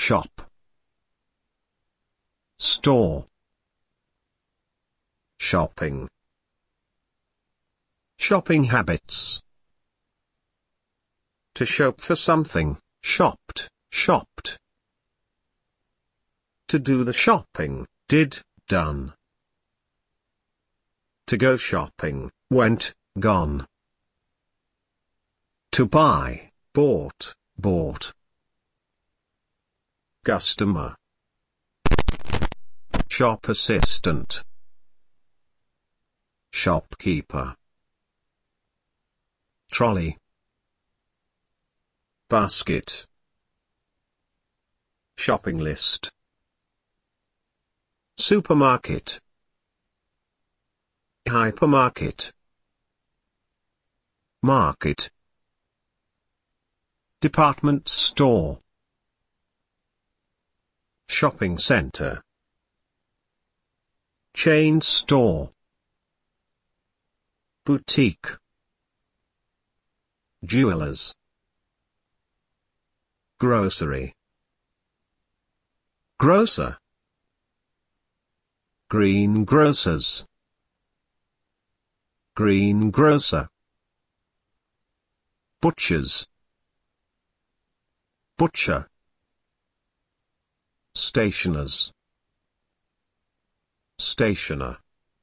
shop, store, shopping, shopping habits. To shop for something, shopped, shopped. To do the shopping, did, done. To go shopping, went, gone. To buy, bought, bought. Customer, shop assistant, shopkeeper, trolley, basket, shopping list, supermarket, hypermarket, market, department store, shopping center, chain store, boutique, jewelers, grocery, grocer, greengrocers, greengrocer, butchers, butcher, stationers, stationer,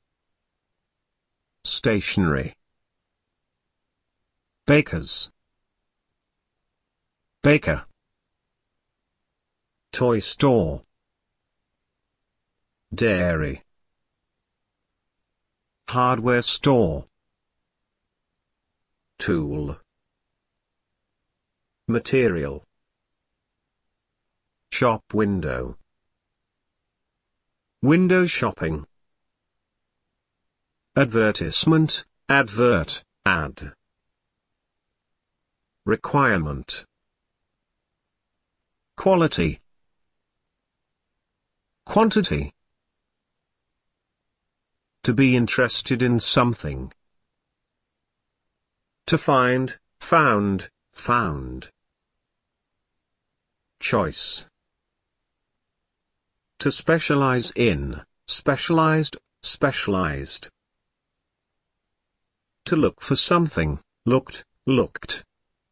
stationery, bakers, baker, toy store, dairy, hardware store, tool, material, shop window, window shopping, advertisement, advert, ad, requirement, quality, quantity. To be interested in something. To find, found, found. Choice. To specialize in, specialized, specialized. To look for something, looked, looked.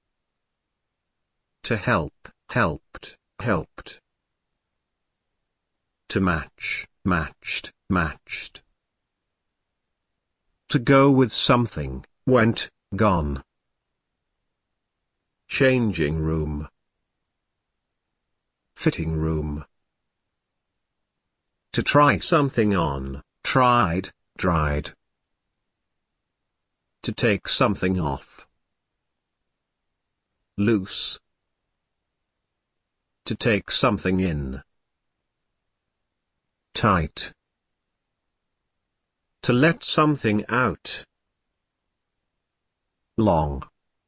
To help, helped, helped. To match, matched, matched. To go with something, went, gone. Changing room. Fitting room. To try something on, tried, dried. To take something off. Loose. To take something in. Tight. To let something out. Long.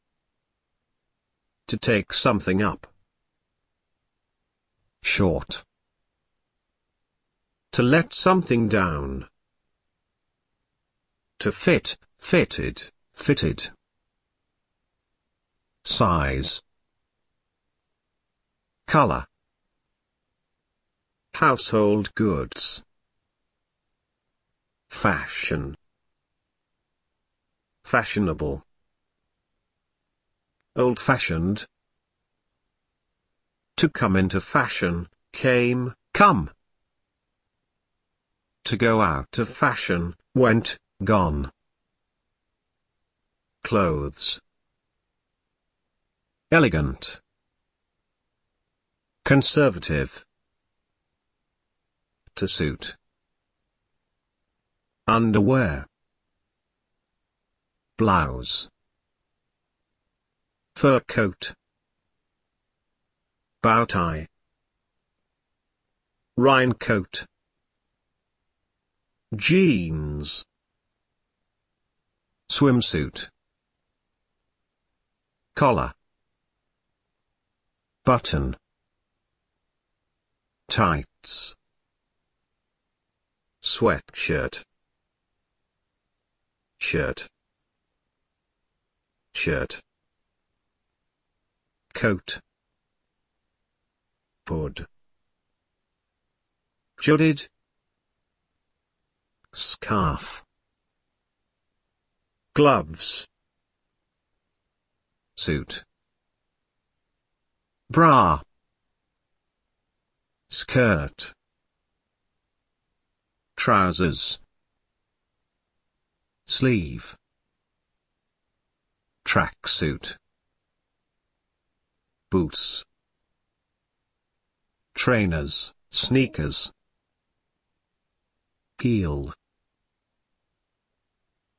To take something up. Short. To let something down. To fit, fitted, fitted. Size. Color. Household goods. Fashion. Fashionable. Old-fashioned. To come into fashion, came, come. To go out of fashion, went, gone. Clothes. Elegant. Conservative. To suit. Underwear. Blouse. Fur coat. Bow tie. Raincoat. Jeans. Swimsuit. Collar. Button. Tights. Sweatshirt. Shirt. Shirt. Coat. Hood. Jaded. Scarf. Gloves. Suit. Bra. Skirt. Trousers. Sleeve. Tracksuit. Boots. Trainers, sneakers. Heel.